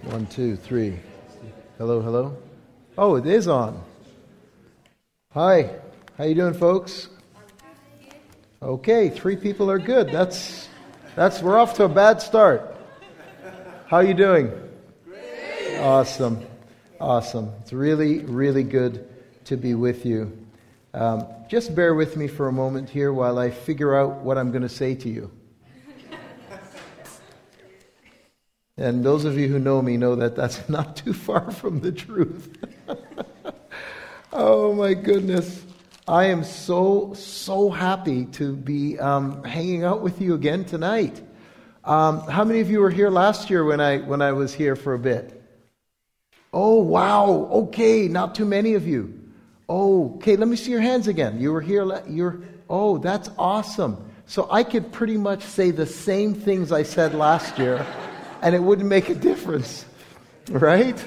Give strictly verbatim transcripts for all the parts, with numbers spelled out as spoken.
One, two, three. Hello, hello. Oh, it is on. Hi. How you doing, folks? Okay, three people are good. That's that's we're off to a bad start. How you doing? Great. Awesome. Awesome. It's really, really good to be with you. Um, just bear with me for a moment here while I figure out what I'm going to say to you. And those of you who know me know that that's not too far from the truth. Oh my goodness. I am so, so happy to be um, hanging out with you again tonight. Um, how many of you were here last year when I when I was here for a bit? Oh, wow. Okay, not too many of you. Oh, okay, let me see your hands again. You were here. La- you're. Oh, that's awesome. So I could pretty much say the same things I said last year, and it wouldn't make a difference, right?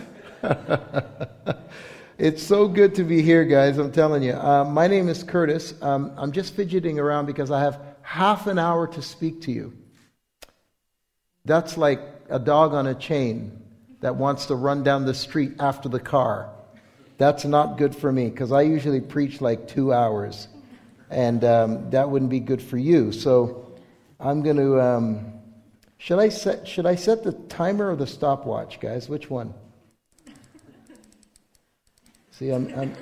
It's so good to be here, guys, I'm telling you. Uh, my name is Curtis. Um, I'm just fidgeting around because I have half an hour to speak to you. That's like a dog on a chain that wants to run down the street after the car. That's not good for me because I usually preach like two hours. And um, that wouldn't be good for you. So I'm going to... Um, should I set, should I set the timer or the stopwatch, guys? Which one? See, I'm I'm,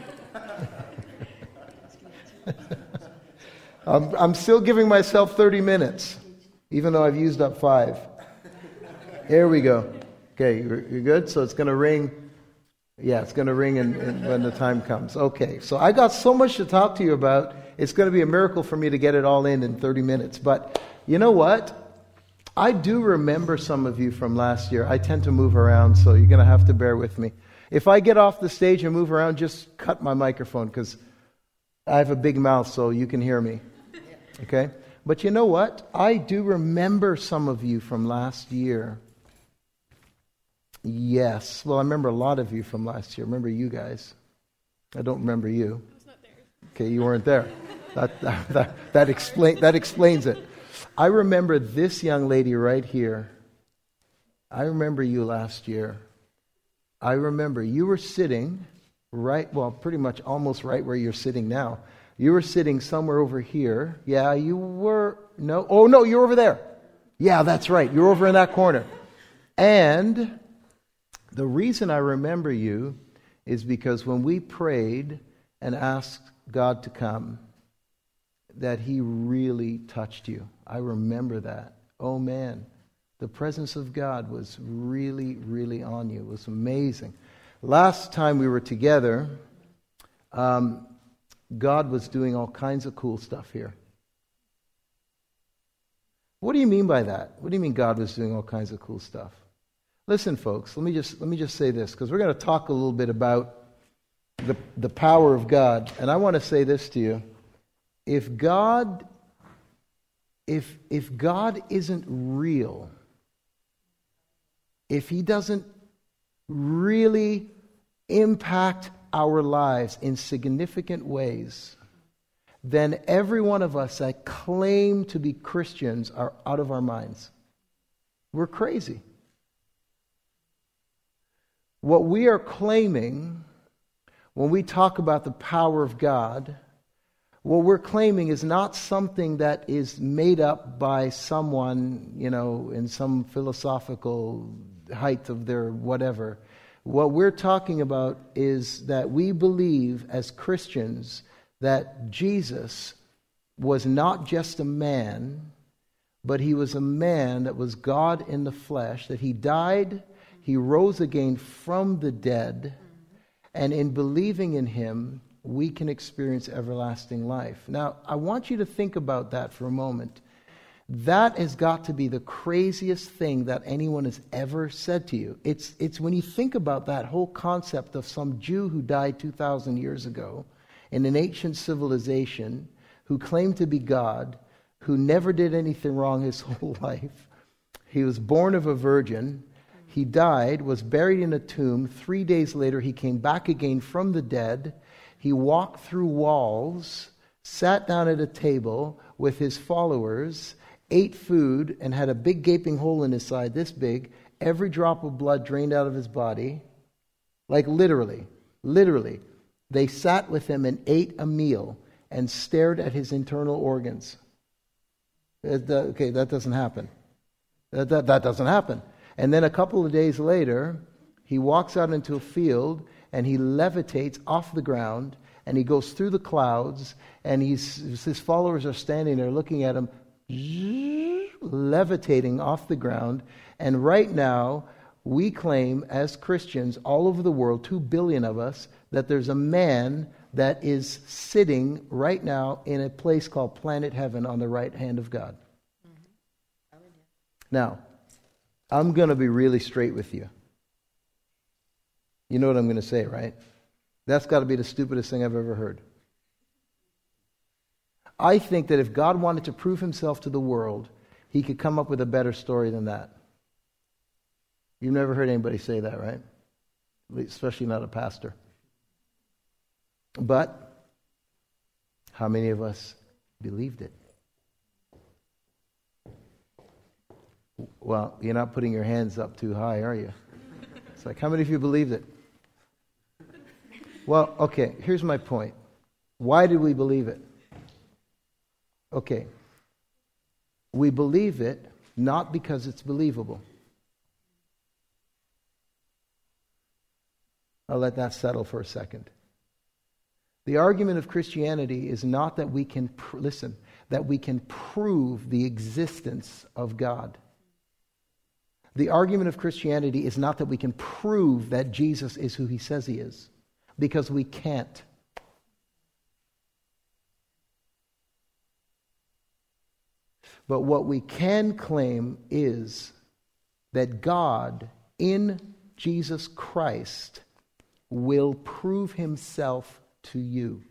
I'm I'm still giving myself thirty minutes, even though I've used up five. Here we go. Okay, you're, you're good? So it's going to ring. Yeah, it's going to ring in, in, when the time comes. Okay, so I got so much to talk to you about. It's going to be a miracle for me to get it all in in thirty minutes. But you know what? I do remember some of you from last year. I tend to move around, so you're going to have to bear with me. If I get off the stage and move around, just cut my microphone because I have a big mouth so you can hear me. Okay? But you know what? I do remember some of you from last year. Yes. Well, I remember a lot of you from last year. I remember you guys. I don't remember you. I was not there. Okay, you weren't there. That, that, that, that, explain, that explains it. I remember this young lady right here. I remember you last year. I remember you were sitting right, well, pretty much almost right where you're sitting now. You were sitting somewhere over here. Yeah, you were, no, oh no, you're over there. Yeah, that's right. You're over in that corner. And the reason I remember you is because when we prayed and asked God to come, that He really touched you. I remember that. Oh man. The presence of God was really, really on you. It was amazing. Last time we were together, um, God was doing all kinds of cool stuff here. What do you mean by that? What do you mean God was doing all kinds of cool stuff? Listen, folks, let me just let me just say this, because we're going to talk a little bit about the the power of God. And I want to say this to you. If God, if if God isn't real, if He doesn't really impact our lives in significant ways, then every one of us that claim to be Christians are out of our minds. We're crazy. What we are claiming when we talk about the power of God, what we're claiming is not something that is made up by someone, you know, in some philosophical height of their whatever. What we're talking about is that we believe as Christians that Jesus was not just a man, but He was a man that was God in the flesh, that He died, He rose again from the dead, and in believing in Him, we can experience everlasting life. Now, I want you to think about that for a moment. That has got to be the craziest thing that anyone has ever said to you. It's it's when you think about that whole concept of some Jew who died two thousand years ago in an ancient civilization, who claimed to be God, who never did anything wrong his whole life. He was born of a virgin. He died, was buried in a tomb. Three days later, He came back again from the dead. He walked through walls, sat down at a table with His followers, ate food and had a big gaping hole in his side, this big, every drop of blood drained out of his body. Like literally, literally. They sat with him and ate a meal and stared at his internal organs. Okay, that doesn't happen. That, that, that doesn't happen. And then a couple of days later, he walks out into a field and he levitates off the ground and he goes through the clouds and he's, his followers are standing there looking at him, levitating off the ground. And right now, we claim as Christians all over the world, two billion of us, that there's a man that is sitting right now in a place called Planet Heaven on the right hand of God. Mm-hmm. Now, I'm going to be really straight with you. You know what I'm going to say, right? That's got to be the stupidest thing I've ever heard. I think that if God wanted to prove himself to the world, he could come up with a better story than that. You've never heard anybody say that, right? Especially not a pastor. But how many of us believed it? Well, you're not putting your hands up too high, are you? It's like, how many of you believed it? Well, okay, here's my point. Why did we believe it? Okay. We believe it not because it's believable. I'll let that settle for a second. The argument of Christianity is not that we can, pr- listen, that we can prove the existence of God. The argument of Christianity is not that we can prove that Jesus is who he says he is, because we can't. But what we can claim is that God in Jesus Christ will prove himself to you.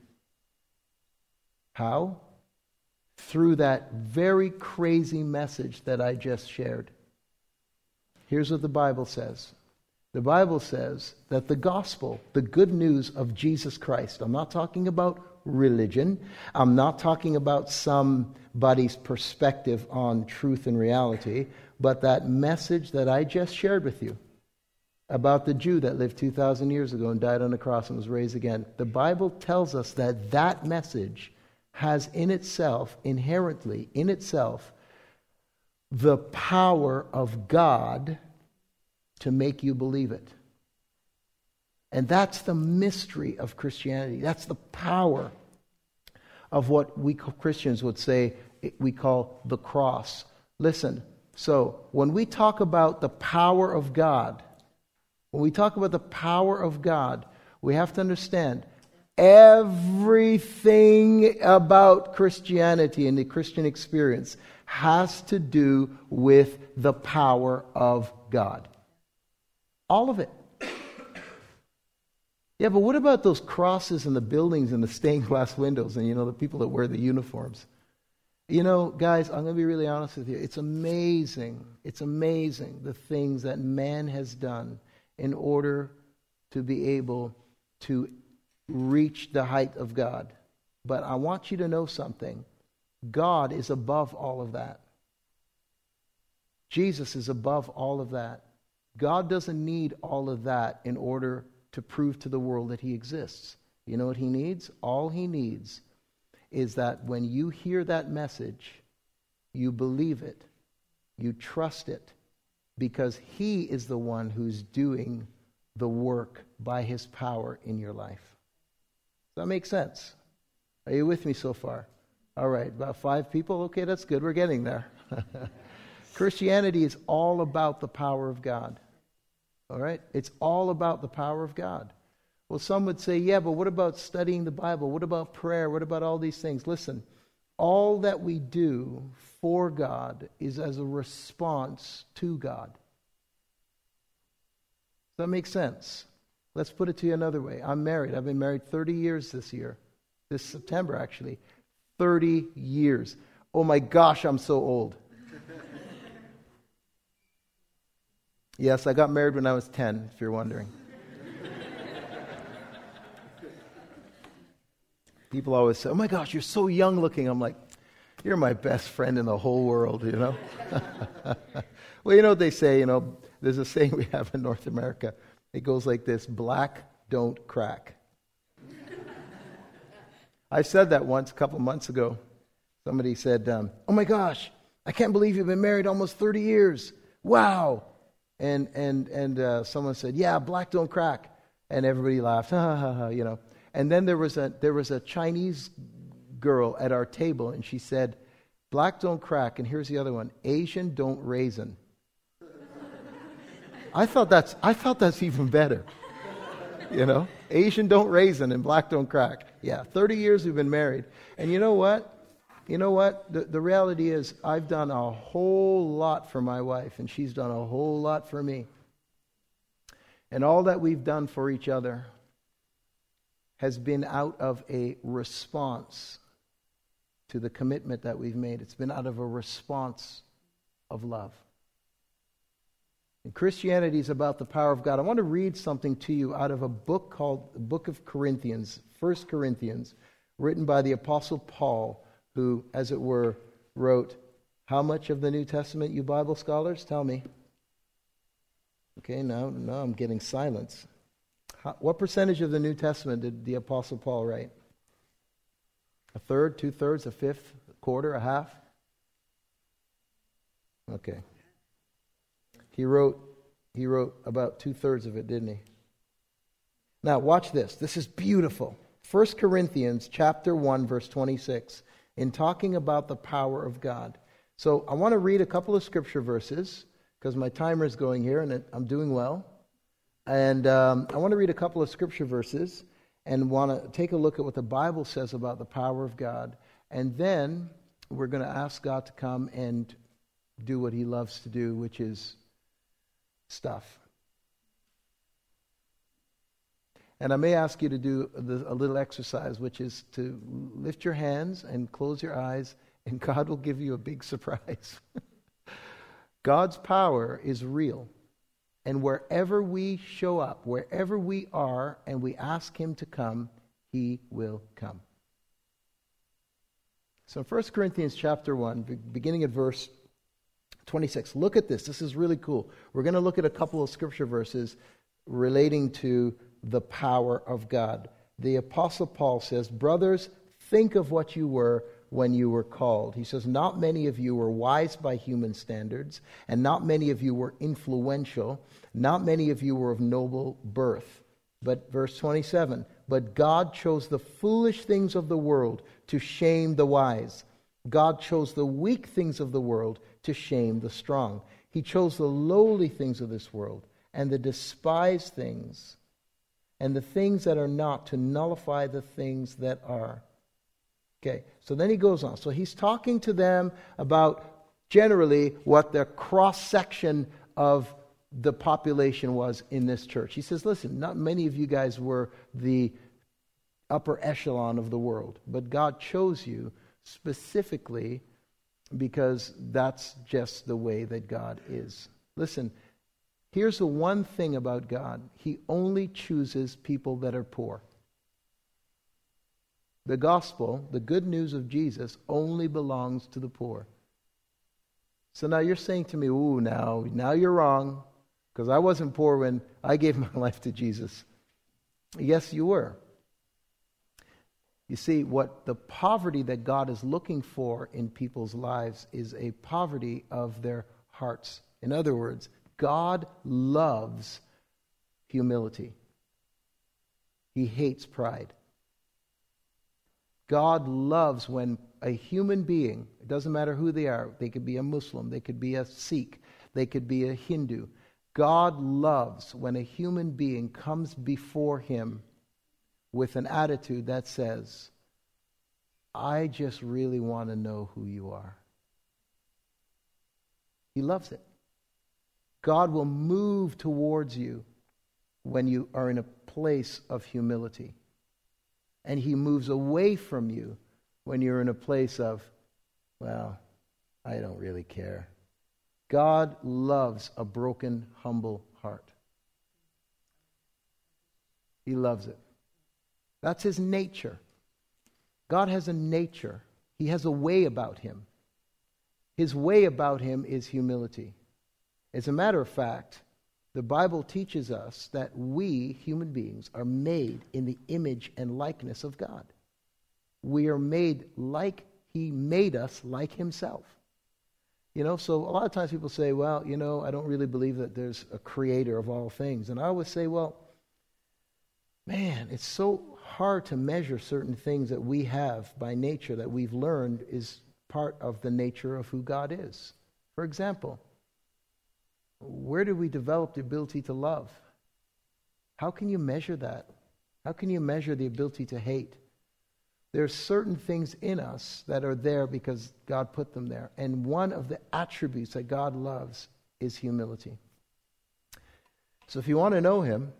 How? Through that very crazy message that I just shared. Here's what the Bible says. The Bible says that the gospel, the good news of Jesus Christ, I'm not talking about religion, I'm not talking about somebody's perspective on truth and reality, but that message that I just shared with you about the Jew that lived two thousand years ago and died on the cross and was raised again. The Bible tells us that that message has in itself, inherently in itself, the power of God to make you believe it. And that's the mystery of Christianity. That's the power of what we Christians would say we call the cross. Listen, so when we talk about the power of God, when we talk about the power of God, we have to understand everything about Christianity and the Christian experience has to do with the power of God. All of it. Yeah, but what about those crosses and the buildings and the stained glass windows and, you know, the people that wear the uniforms? You know, guys, I'm going to be really honest with you. It's amazing. It's amazing the things that man has done in order to be able to reach the height of God. But I want you to know something. God is above all of that. Jesus is above all of that. God doesn't need all of that in order to prove to the world that he exists. You know what he needs? All he needs is that when you hear that message, you believe it, you trust it, because he is the one who's doing the work by his power in your life. Does that make sense? Are you with me so far? All right, about five people? Okay, that's good. We're getting there. Christianity is all about the power of God. All right? It's all about the power of God. Well, some would say, yeah, but what about studying the Bible? What about prayer? What about all these things? Listen, all that we do for God is as a response to God. Does that make sense? Let's put it to you another way. I'm married. I've been married thirty years this year. This September, actually. thirty years. Oh my gosh, I'm so old. Yes, I got married when I was ten, if you're wondering. People always say, oh my gosh, you're so young looking. I'm like, you're my best friend in the whole world, you know. Well, you know what they say, you know, there's a saying we have in North America. It goes like this: black don't crack. I said that once a couple months ago. Somebody said, um, oh my gosh, I can't believe you've been married almost thirty years. Wow. And and and uh, someone said, yeah, black don't crack. And everybody laughed, ha ha ha, you know. And then there was a there was a Chinese girl at our table, and she said, black don't crack, and here's the other one, Asian don't raisin. I thought that's I thought that's even better. You know? Asian don't raisin and black don't crack. Yeah, thirty years we've been married. And you know what? You know what? The, the reality is I've done a whole lot for my wife, and she's done a whole lot for me. And all that we've done for each other has been out of a response to the commitment that we've made. It's been out of a response of love. And Christianity is about the power of God. I want to read something to you out of a book called the Book of Corinthians, First Corinthians, written by the Apostle Paul, who, as it were, wrote how much of the New Testament, you Bible scholars? Tell me. Okay, now, now I'm getting silence. How, what percentage of the New Testament did the Apostle Paul write? A third, two-thirds, a fifth, a quarter, a half? Okay. He wrote, he wrote about two-thirds of it, didn't he? Now, watch this. This is beautiful. First Corinthians chapter one, verse twenty-six, in talking about the power of God. So I want to read a couple of scripture verses, because my timer is going here, and I'm doing well. And um, I want to read a couple of scripture verses and want to take a look at what the Bible says about the power of God. And then we're going to ask God to come and do what he loves to do, which is stuff. And I may ask you to do a little exercise, which is to lift your hands and close your eyes, and God will give you a big surprise. God's power is real. And wherever we show up, wherever we are, and we ask him to come, he will come. So First Corinthians chapter one, beginning at verse twenty-six. Look at this. This is really cool. We're going to look at a couple of scripture verses relating to the power of God. The Apostle Paul says, brothers, think of what you were when you were called. He says, not many of you were wise by human standards, and not many of you were influential. Not many of you were of noble birth. But verse twenty-seven, but God chose the foolish things of the world to shame the wise. God chose the weak things of the world to shame the strong. He chose the lowly things of this world and the despised things and the things that are not to nullify the things that are. Okay, so then he goes on. So he's talking to them about generally what the cross-section of the population was in this church. He says, listen, not many of you guys were the upper echelon of the world, but God chose you specifically because that's just the way that God is. Listen, here's the one thing about God. He only chooses people that are poor. The gospel, the good news of Jesus, only belongs to the poor. So now you're saying to me, ooh, now, now you're wrong, because I wasn't poor when I gave my life to Jesus. Yes, you were. You see, what the poverty that God is looking for in people's lives is a poverty of their hearts. In other words, God loves humility. He hates pride. God loves when a human being, it doesn't matter who they are, they could be a Muslim, they could be a Sikh, they could be a Hindu. God loves when a human being comes before him with an attitude that says, I just really want to know who you are. He loves it. God will move towards you when you are in a place of humility. And he moves away from you when you're in a place of, well, I don't really care. God loves a broken, humble heart. He loves it. That's his nature. God has a nature. He has a way about him. His way about him is humility. As a matter of fact, The Bible teaches us that we, human beings, are made in the image and likeness of God. We are made like He made us, like Himself. You know, so a lot of times people say, well, you know, I don't really believe that there's a creator of all things. And I always say, well, man, it's so hard to measure certain things that we have by nature that we've learned is part of the nature of who God is. For example, where did we develop the ability to love? How can you measure that? How can you measure the ability to hate? There are certain things in us that are there because God put them there. And one of the attributes that God loves is humility. So if you want to know Him,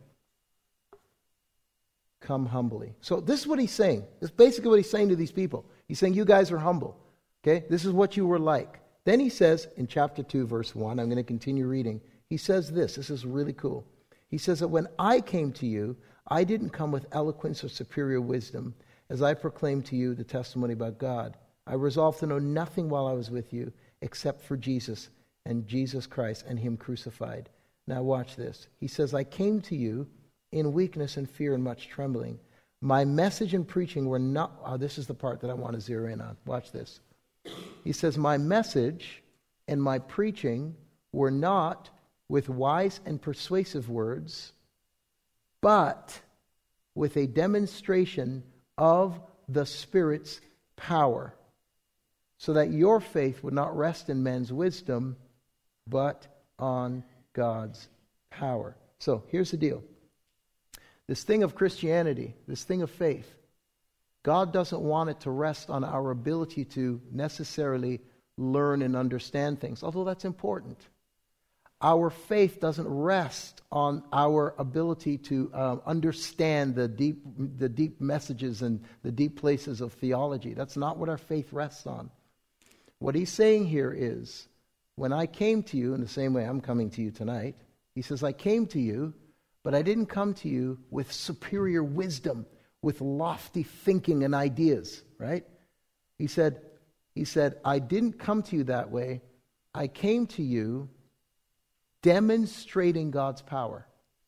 come humbly. So this is what He's saying. This is basically what He's saying to these people. He's saying, you guys are humble. Okay? This is what you were like. Then He says in chapter two, verse one, I'm going to continue reading. He says this. This is really cool. He says that when I came to you, I didn't come with eloquence or superior wisdom, as I proclaimed to you the testimony about God. I resolved to know nothing while I was with you except for Jesus and Jesus Christ and Him crucified. Now watch this. He says, I came to you in weakness and fear and much trembling. My message and preaching were not... Oh, this is the part that I want to zero in on. Watch this. He says, my message and my preaching were not with wise and persuasive words, but with a demonstration of the Spirit's power, so that your faith would not rest in men's wisdom, but on God's power. So here's the deal. This thing of Christianity, this thing of faith, God doesn't want it to rest on our ability to necessarily learn and understand things, although that's important. Our faith doesn't rest on our ability to um, understand the deep, the deep messages and the deep places of theology. That's not what our faith rests on. What He's saying here is, when I came to you, in the same way I'm coming to you tonight, He says, I came to you, but I didn't come to you with superior wisdom, with lofty thinking and ideas, right? He said, he said, I didn't come to you that way. I came to you demonstrating God's power.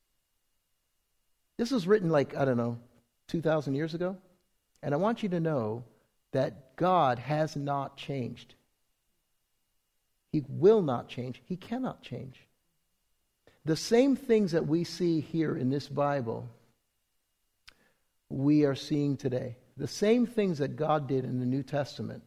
This was written like, I don't know, two thousand years ago. And I want you to know that God has not changed. He will not change. He cannot change. The same things that we see here in this Bible, we are seeing today. The same things that God did in the New Testament.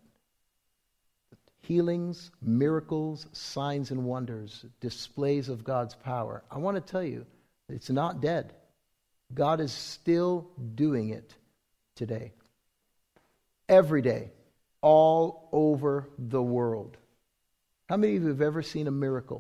Healings, miracles, signs and wonders, displays of God's power. I want to tell you, it's not dead. God is still doing it today. Every day, all over the world. How many of you have ever seen a miracle?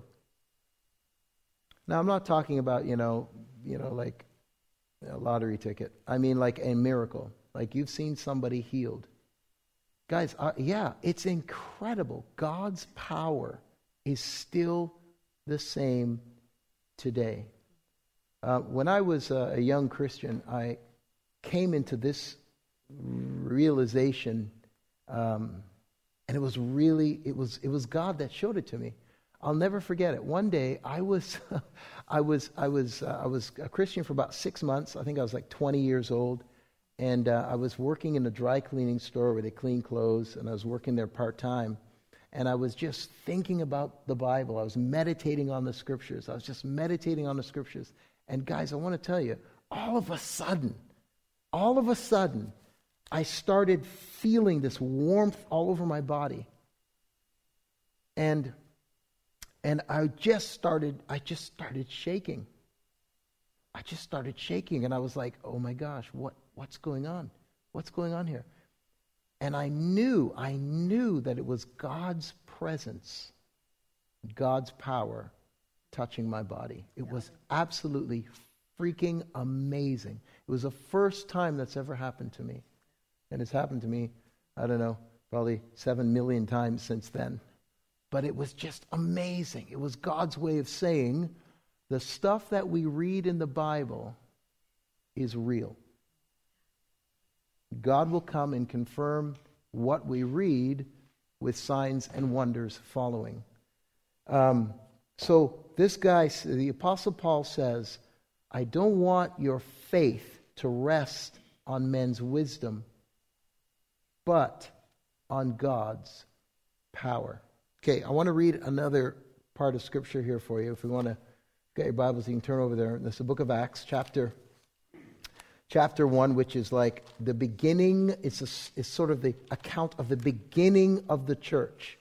Now, I'm not talking about, you know, you know, like a lottery ticket. I mean like a miracle. Like you've seen somebody healed. Guys, uh, yeah, it's incredible. God's power is still the same today. Uh, when I was uh, a young Christian, I came into this realization, um, and it was really, it was, it was God that showed it to me. I'll never forget it. One day, I was, I was, I was, uh, I was a Christian for about six months. I think I was like twenty years old. And uh, I was working in a dry cleaning store where they clean clothes, and I was working there part-time. And I was just thinking about the Bible. I was meditating on the Scriptures. I was just meditating on the Scriptures. And guys, I want to tell you, all of a sudden, all of a sudden, I started feeling this warmth all over my body. And and I just started, I just started shaking. I just started shaking, and I was like, oh my gosh, what what's going on? What's going on here? And I knew, I knew that it was God's presence, God's power touching my body. It was absolutely freaking amazing. It was the first time that's ever happened to me. And it's happened to me, I don't know, probably seven million times since then. But it was just amazing. It was God's way of saying, the stuff that we read in the Bible is real. God will come and confirm what we read with signs and wonders following. Um, so this guy, the Apostle Paul says, I don't want your faith to rest on men's wisdom, but on God's power. Okay, I want to read another part of Scripture here for you. If we want to get your Bibles, you can turn over there. This is the book of Acts, chapter chapter one, which is like the beginning. It's, a, it's sort of the account of the beginning of the church.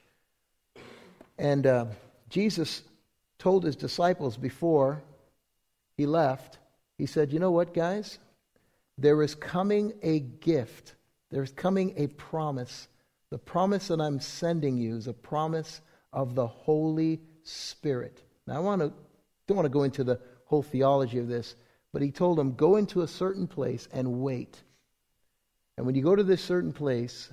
And uh, Jesus told his disciples before he left, he said, you know what, guys? There is coming a gift. There's coming a promise. The promise that I'm sending you is a promise of the Holy Spirit. Now, I want to don't want to go into the whole theology of this, but he told them, go into a certain place and wait. And when you go to this certain place,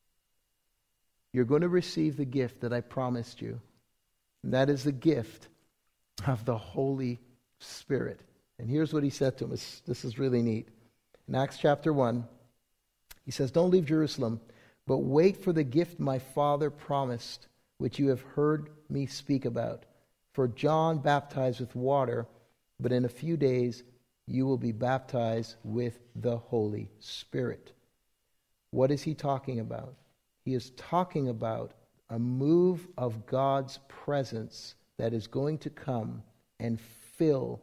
you're going to receive the gift that I promised you. And that is the gift of the Holy Spirit. And here's what he said to them. It's, this is really neat. In Acts chapter one, he says, don't leave Jerusalem, but wait for the gift my Father promised, which you have heard me speak about. For John baptized with water, but in a few days you will be baptized with the Holy Spirit. What is he talking about? He is talking about a move of God's presence that is going to come and fill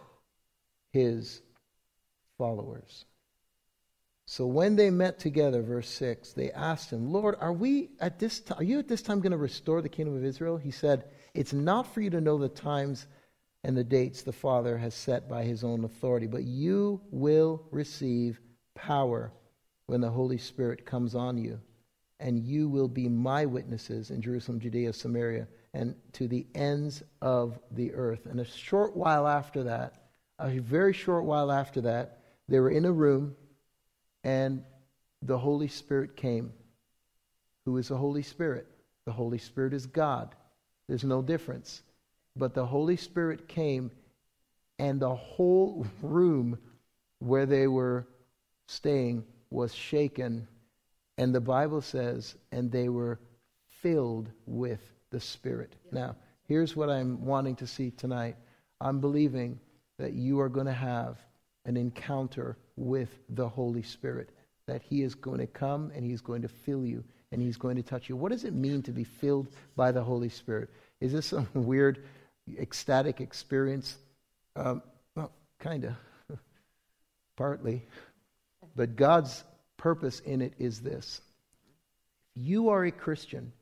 his followers. So when they met together, verse six, they asked him, Lord, are we at this time, are you at this time going to restore the kingdom of Israel? He said, it's not for you to know the times and the dates the Father has set by his own authority, but you will receive power when the Holy Spirit comes on you, and you will be my witnesses in Jerusalem, Judea, Samaria, and to the ends of the earth. And a short while after that, a very short while after that, they were in a room, and the Holy Spirit came. Who is the Holy Spirit? The Holy Spirit is God. There's no difference. But the Holy Spirit came, and the whole room where they were staying was shaken. And the Bible says, and they were filled with the Spirit. Yeah. Now, here's what I'm wanting to see tonight. I'm believing that you are going to have an encounter with the Holy Spirit, that he is going to come and he's going to fill you and he's going to touch you. What does it mean to be filled by the Holy Spirit? Is this some weird ecstatic experience? Um, well, kind of, partly. But God's purpose in it is this. You are a Christian.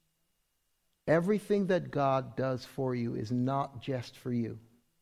Everything that God does for you is not just for you.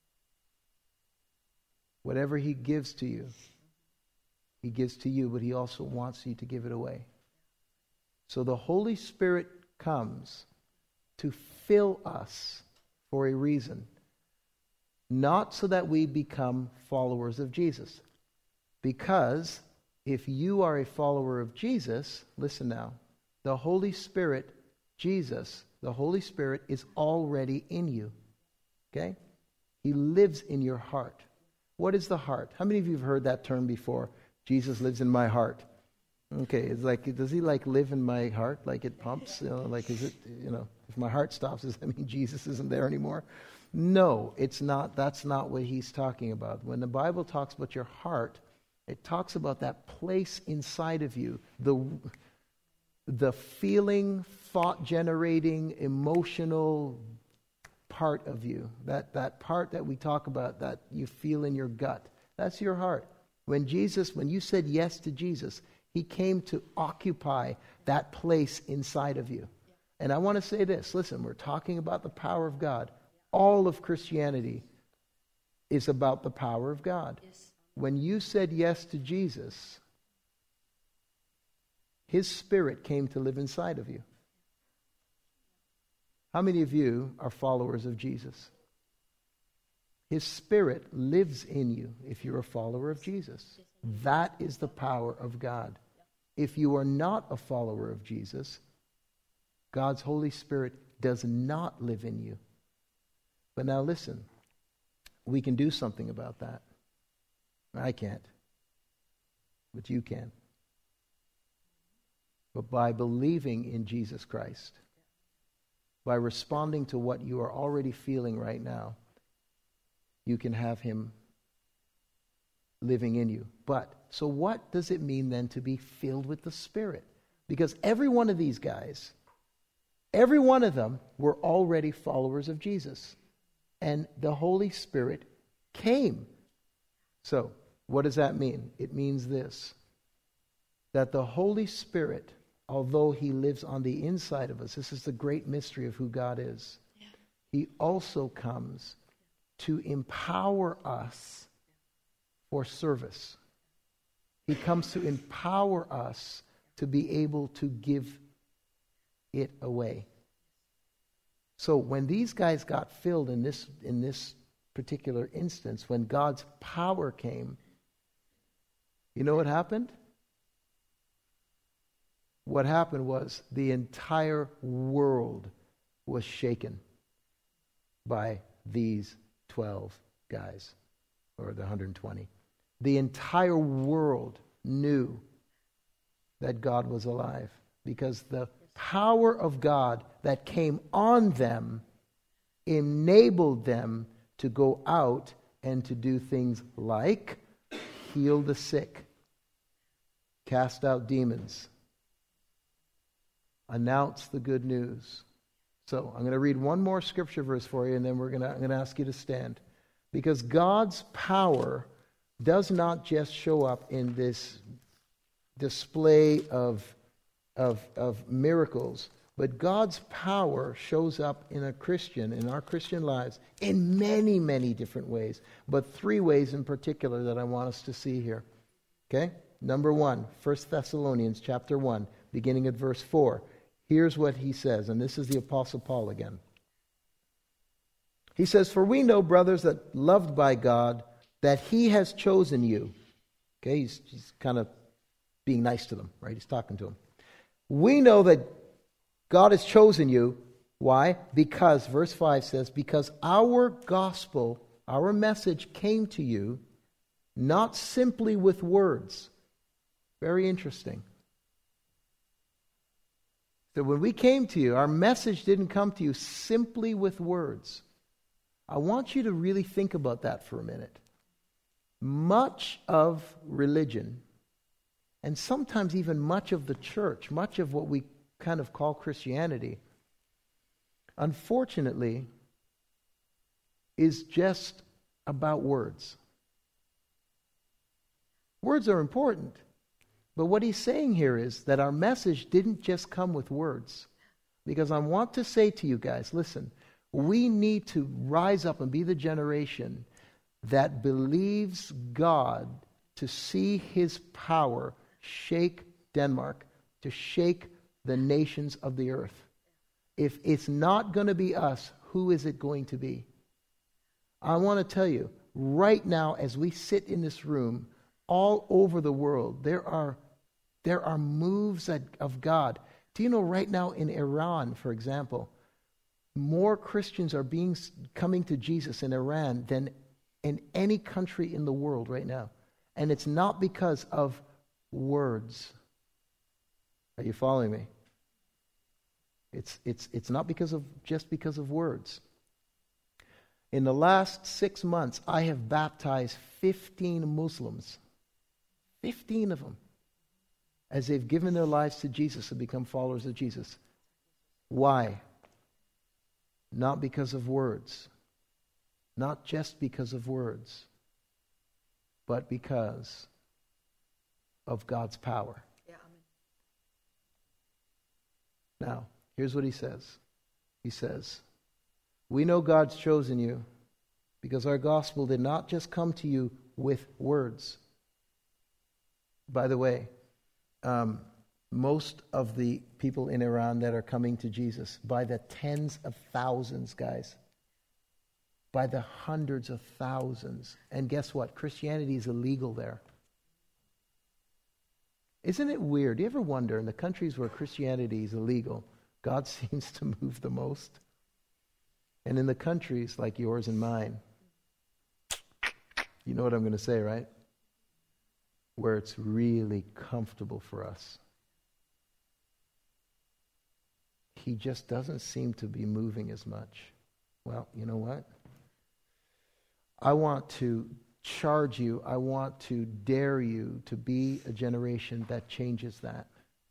Whatever he gives to you, he gives to you, but he also wants you to give it away. So the Holy Spirit comes to fill us for a reason. Not so that we become followers of Jesus. Because if you are a follower of Jesus, listen now, the Holy Spirit, Jesus, the Holy Spirit is already in you. Okay? He lives in your heart. What is the heart? How many of you have heard that term before? Jesus lives in my heart. Okay, it's like, does he like live in my heart? Like it pumps? You know, like is it, you know, if my heart stops, does that mean Jesus isn't there anymore? No, it's not. That's not what he's talking about. When the Bible talks about your heart, it talks about that place inside of you, the the feeling, thought-generating, emotional part of you, that, that part that we talk about that you feel in your gut. That's your heart. When Jesus, when you said yes to Jesus, he came to occupy that place inside of you. And I want to say this, listen, we're talking about the power of God. All of Christianity is about the power of God. Yes. When you said yes to Jesus, his Spirit came to live inside of you. How many of you are followers of Jesus? His Spirit lives in you if you're a follower of Jesus. That is the power of God. If you are not a follower of Jesus, God's Holy Spirit does not live in you. But now listen, we can do something about that. I can't, but you can. But by believing in Jesus Christ, by responding to what you are already feeling right now, you can have him living in you. But, so what does it mean then to be filled with the Spirit? Because every one of these guys, every one of them were already followers of Jesus. And the Holy Spirit came. So, what does that mean? It means this, that the Holy Spirit, although he lives on the inside of us, this is the great mystery of who God is, yeah. He also comes to empower us for service. He comes to empower us to be able to give it away. So when these guys got filled in this in this particular instance, when God's power came, you know what happened? What happened was the entire world was shaken by these twelve guys, or the one hundred twenty. The entire world knew that God was alive because the power of God that came on them enabled them to go out and to do things like heal the sick, cast out demons, announce the good news. So I'm going to read one more scripture verse for you, and then we're going to, I'm going to ask you to stand. Because God's power does not just show up in this display of, of, of miracles, but God's power shows up in a Christian, in our Christian lives, in many, many different ways. But three ways in particular that I want us to see here. Okay? Number one, First Thessalonians chapter one, beginning at verse four. Here's what he says, and this is the Apostle Paul again. He says, "For we know, brothers, that loved by God, that he has chosen you." Okay, he's, he's kind of being nice to them, right? He's talking to them. "We know that God has chosen you." Why? Because, verse five says, "because our gospel, our message came to you, not simply with words." Very interesting. So when we came to you, our message didn't come to you simply with words. I want you to really think about that for a minute. Much of religion, and sometimes even much of the church, much of what we kind of call Christianity, unfortunately, is just about words. Words are important. But what he's saying here is that our message didn't just come with words. Because I want to say to you guys, listen, we need to rise up and be the generation that believes God to see his power shake Denmark, to shake the nations of the earth. If it's not going to be us, who is it going to be? I want to tell you, right now as we sit in this room, all over the world, there are there are moves that, of God. Do you know right now in Iran, for example, more Christians are being coming to Jesus in Iran than in any country in the world right now. And it's not because of words. Are you following me? It's it's it's not because of just because of words. In the last six months, I have baptized fifteen Muslims. Fifteen of them. As they've given their lives to Jesus and become followers of Jesus. Why? Not because of words. Not just because of words. But because of God's power. Yeah, amen. Now, here's what he says. He says, "We know God's chosen you because our gospel did not just come to you with words." By the way, um, most of the people in Iran that are coming to Jesus, by the tens of thousands, guys, by the hundreds of thousands. And guess what? Christianity is illegal there. Isn't it weird? Do you ever wonder, in the countries where Christianity is illegal, God seems to move the most? And in the countries like yours and mine, you know what I'm going to say, right? Where it's really comfortable for us, he just doesn't seem to be moving as much. Well, you know what? I want to charge you, I want to dare you to be a generation that changes that.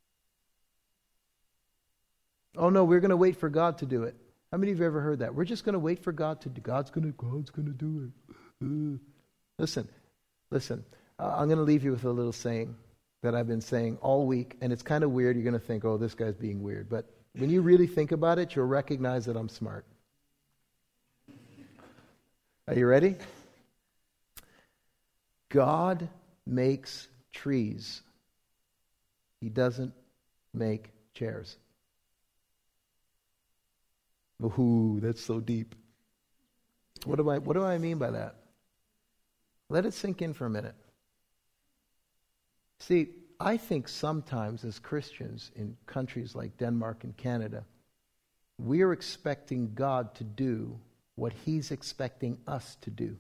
Oh no, we're going to wait for God to do it. How many of you have ever heard that? We're just going to wait for God to do. God's going to. God's going to do it. Uh. Listen, listen. Uh, I'm going to leave you with a little saying that I've been saying all week, and it's kind of weird. You're going to think, "Oh, this guy's being weird," but when you really think about it, you'll recognize that I'm smart. Are you ready? God makes trees. He doesn't make chairs. Ooh, that's so deep. What do I what do I mean by that? Let it sink in for a minute. See, I think sometimes as Christians in countries like Denmark and Canada, we're expecting God to do what He's expecting us to do.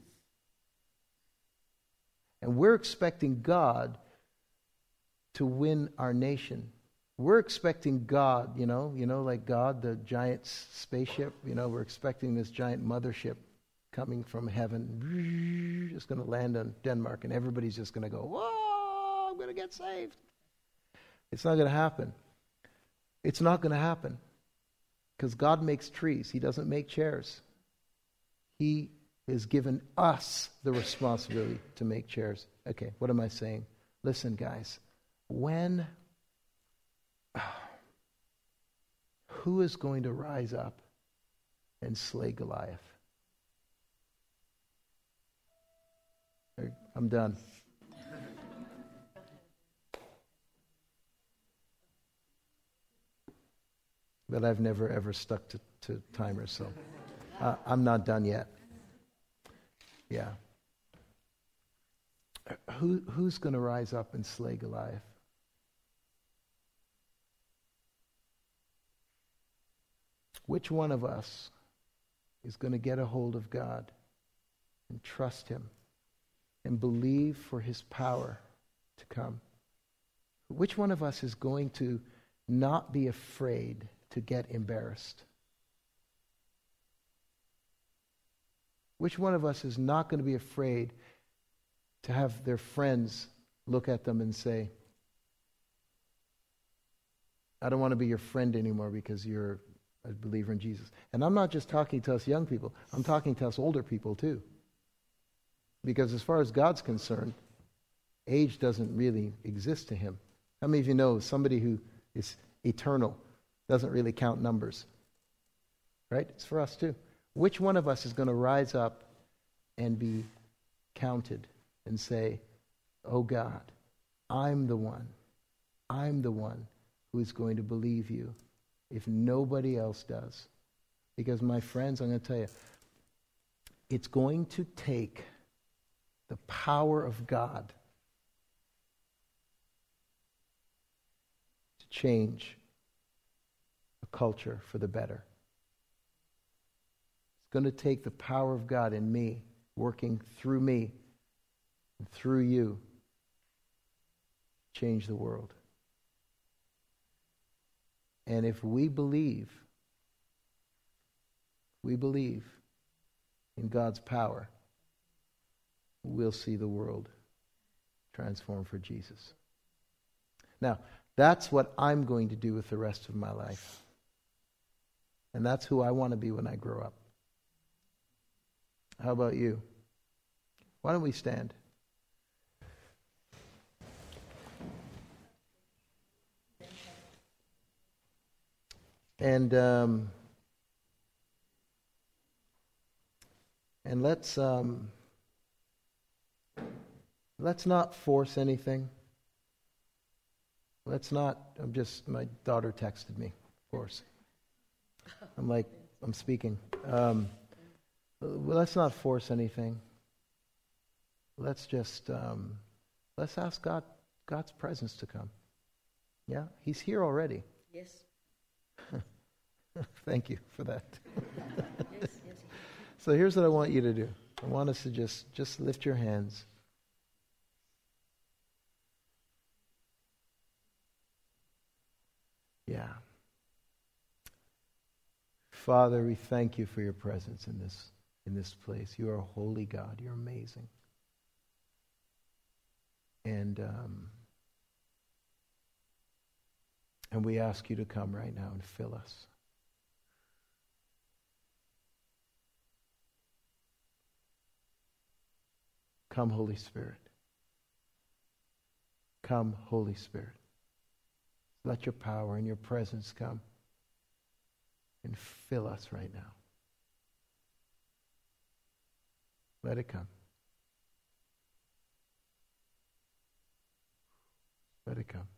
And we're expecting God to win our nation. We're expecting God, you know, you know, like God, the giant spaceship, you know, we're expecting this giant mothership coming from heaven, just going to land on Denmark, and everybody's just going to go, whoa, I'm going to get saved. It's not going to happen. It's not going to happen because God makes trees. He doesn't make chairs. He has given us the responsibility to make chairs. Okay, what am I saying? Listen, guys, when who is going to rise up and slay Goliath? I'm done. But I've never ever stuck to, to timers, so uh, I'm not done yet. Yeah. Who who's going to rise up and slay Goliath? Which one of us is going to get a hold of God and trust Him and believe for His power to come? Which one of us is going to not be afraid to get embarrassed? Which one of us is not going to be afraid to have their friends look at them and say, I don't want to be your friend anymore because you're a believer in Jesus? And I'm not just talking to us young people. I'm talking to us older people too. Because as far as God's concerned, age doesn't really exist to Him. How many of you know somebody who is eternal doesn't really count numbers? Right? It's for us too. Which one of us is going to rise up and be counted and say, oh God, I'm the one. I'm the one who is going to believe you if nobody else does. Because my friends, I'm going to tell you, it's going to take the power of God to change a culture for the better. It's going to take the power of God in me, working through me, and through you, to change the world. And if we believe, we believe in God's power, we'll see the world transformed for Jesus. Now, that's what I'm going to do with the rest of my life. And that's who I want to be when I grow up. How about you? Why don't we stand? And um, and let's um, let's not force anything. Let's not. I'm just. My daughter texted me. Of course. I'm like. I'm speaking. Um, let's not force anything. Let's just. Um, let's ask God. God's presence to come. Yeah, He's here already. Yes. Thank you for that. Yes, yes. So here's what I want you to do. I want us to just, just lift your hands. Yeah. Father, we thank you for your presence in this in this place. You are a holy God. You're amazing. And um, and we ask you to come right now and fill us. Come, Holy Spirit. Come, Holy Spirit. Let your power and your presence come and fill us right now. Let it come. Let it come.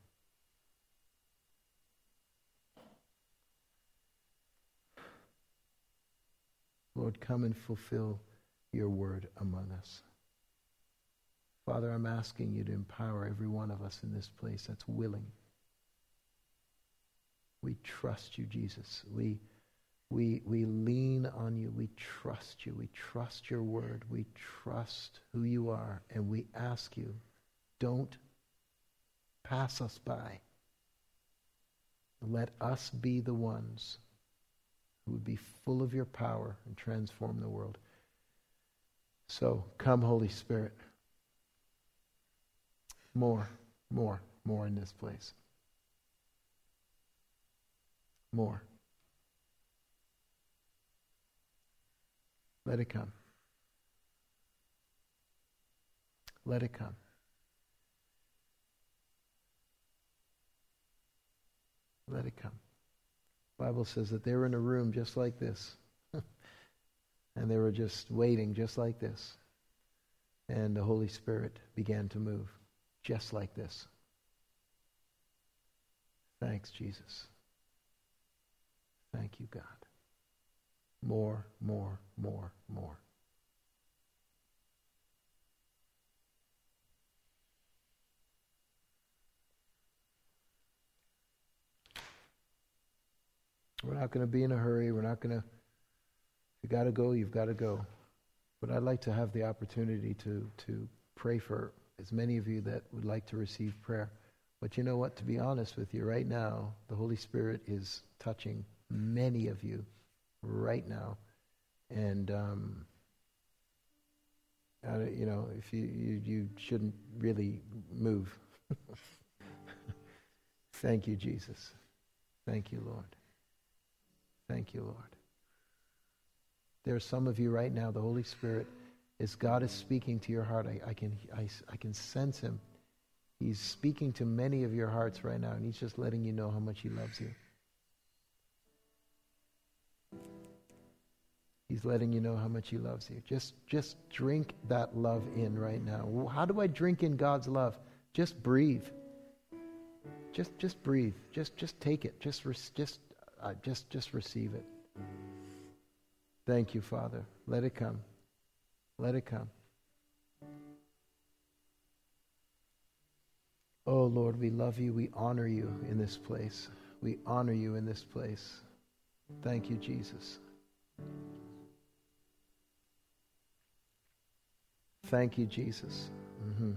Lord, come and fulfill your word among us. Father, I'm asking you to empower every one of us in this place that's willing. We trust you, Jesus. We, we, we lean on you. We trust you. We trust your word. We trust who you are. And we ask you, don't pass us by. Let us be the ones who would be full of your power and transform the world. So, come, Holy Spirit. More, more, more in this place. More. Let it come. Let it come. Let it come. The Bible says that they were in a room just like this. And they were just waiting just like this. And the Holy Spirit began to move just like this. Thanks, Jesus. Thank you, God. More, more, more, more. We're not going to be in a hurry. We're not going to, if you got to go, you've got to go. But I'd like to have the opportunity to, to pray for as many of you that would like to receive prayer. But you know what? To be honest with you, right now, the Holy Spirit is touching many of you right now. And, um, I, you know, if you, you, you shouldn't really move. Thank you, Jesus. Thank you, Lord. Thank you, Lord. There are some of you right now, the Holy Spirit, as God is speaking to your heart, I, I can I, I can sense him. He's speaking to many of your hearts right now, and he's just letting you know how much he loves you. He's letting you know how much he loves you. Just, just drink that love in right now. How do I drink in God's love? Just breathe. Just, just breathe. Just, just take it. Just, just, uh, just, just receive it. Thank you, Father. Let it come. Let it come. Oh, Lord, we love you. We honor you in this place. We honor you in this place. Thank you, Jesus. Thank you, Jesus. Mm-hmm.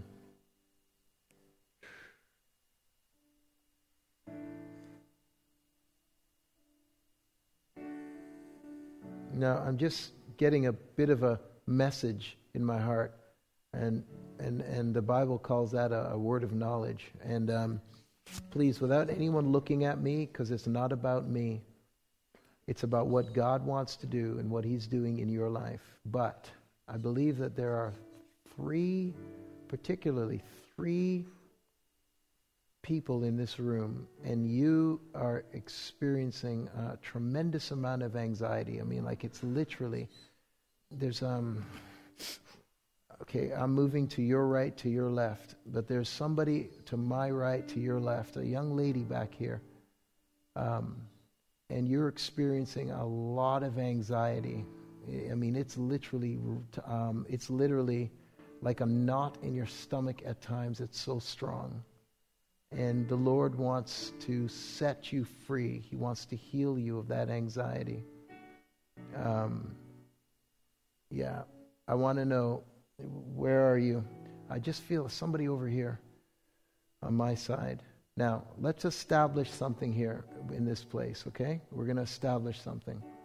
Now, I'm just getting a bit of a message in my heart, and and and the Bible calls that a, a word of knowledge. And um, please, without anyone looking at me, because it's not about me, it's about what God wants to do and what he's doing in your life. But I believe that there are three, particularly three people in this room, and you are experiencing a tremendous amount of anxiety. I mean, like it's literally, there's, um, okay, I'm moving to your right, to your left, but there's somebody to my right, to your left, a young lady back here, um, and you're experiencing a lot of anxiety. I mean, it's literally, um, it's literally like a knot in your stomach at times. It's so strong. And the Lord wants to set you free. He wants to heal you of that anxiety. Um, yeah, I want to know, where are you? I just feel somebody over here on my side. Now, let's establish something here in this place, okay? We're going to establish something.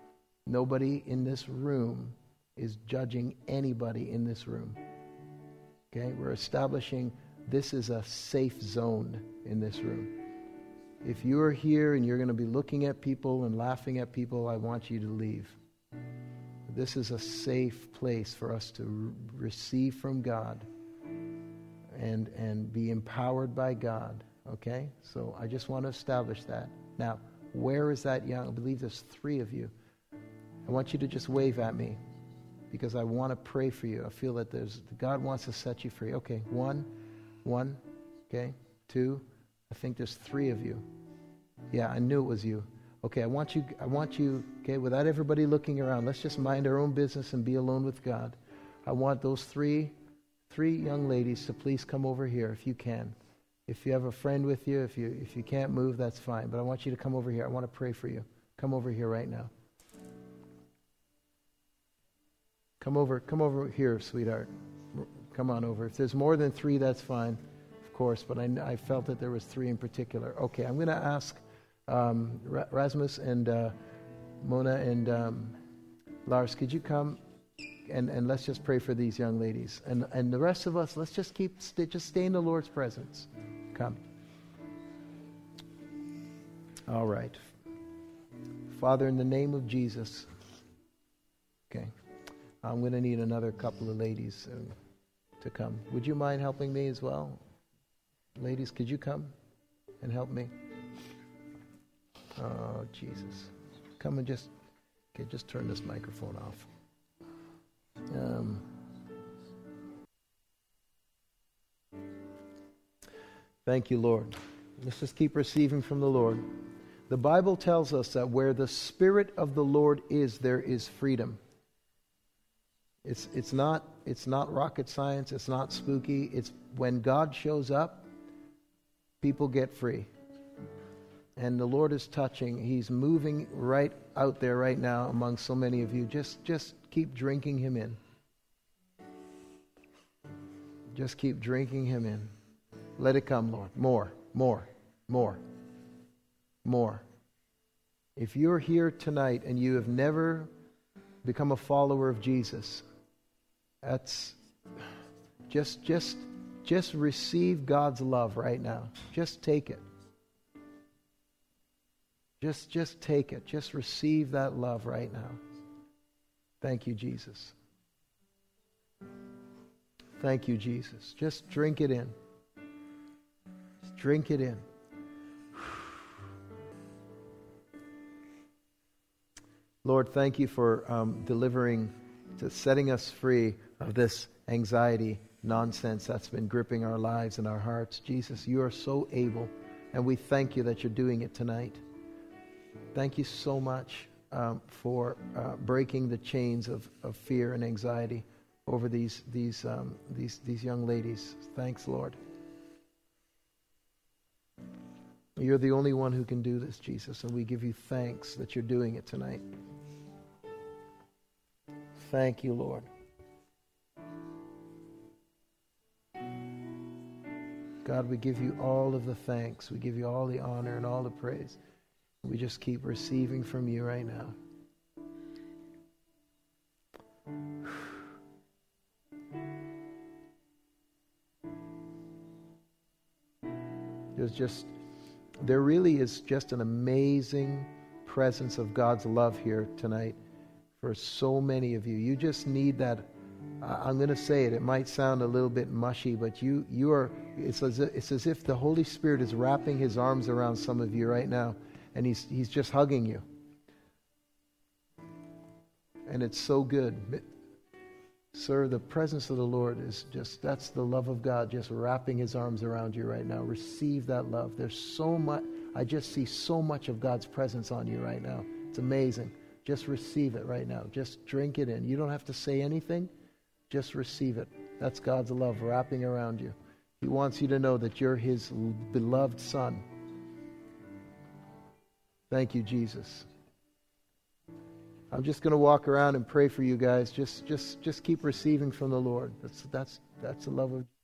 Nobody in this room is judging anybody in this room. Okay? We're establishing this is a safe zone in this room. If you're here and you're going to be looking at people and laughing at people, I want you to leave. This is a safe place for us to re- receive from God and and be empowered by God. Okay? So I just want to establish that. Now, where is that young? I believe there's three of you. I want you to just wave at me because I want to pray for you. I feel that there's God wants to set you free. Okay, one, one, okay, two. I think there's three of you. Yeah, I knew it was you. Okay, I want you, I want you, okay, without everybody looking around, let's just mind our own business and be alone with God. I want those three, three young ladies to please come over here if you can. If you have a friend with you, if you if you can't move, that's fine. But I want you to come over here. I want to pray for you. Come over here right now. Come over, come over here, sweetheart. Come on over. If there's more than three, that's fine, of course. But I, I felt that there was three in particular. Okay, I'm going to ask um, Rasmus and uh, Mona and um, Lars, could you come and, and let's just pray for these young ladies. And and the rest of us, let's just keep, stay, just stay in the Lord's presence. Come. All right. Father, in the name of Jesus. Okay. I'm going to need another couple of ladies uh, to come. Would you mind helping me as well? Ladies, could you come and help me? Oh, Jesus. Come and just, okay, just turn this microphone off. Um, thank you, Lord. Let's just keep receiving from the Lord. The Bible tells us that where the Spirit of the Lord is, there is freedom. It's it's not it's not rocket science. It's not spooky. It's when God shows up, people get free. And the Lord is touching. He's moving right out there right now among so many of you. Just just keep drinking Him in. Just keep drinking Him in. Let it come, Lord. More, more, more, more. If you're here tonight and you have never become a follower of Jesus, that's just just just receive God's love right now. Just take it. Just just take it. Just receive that love right now. Thank you, Jesus. Thank you, Jesus. Just drink it in. Just drink it in. Lord, thank you for um, delivering, to setting us free of this anxiety nonsense that's been gripping our lives and our hearts. Jesus, you are so able, and we thank you that you're doing it tonight. Thank you so much um, for uh, breaking the chains of, of fear and anxiety over these these um, these these young ladies. Thanks, Lord. You're the only one who can do this, Jesus, and we give you thanks that you're doing it tonight. Thank you, Lord. God, we give you all of the thanks. We give you all the honor and all the praise. We just keep receiving from you right now. There's just, there really is just an amazing presence of God's love here tonight for so many of you. You just need that. I'm going to say it. It might sound a little bit mushy, but you, you are. It's as if, it's as if the Holy Spirit is wrapping His arms around some of you right now, and He's He's just hugging you. And it's so good, sir. The presence of the Lord is just—that's the love of God, just wrapping His arms around you right now. Receive that love. There's so much. I just see so much of God's presence on you right now. It's amazing. Just receive it right now. Just drink it in. You don't have to say anything. Just receive it. That's God's love wrapping around you. He wants you to know that you're His beloved son. Thank you, Jesus. I'm just going to walk around and pray for you guys. Just, just, just keep receiving from the Lord. That's, that's, that's the love of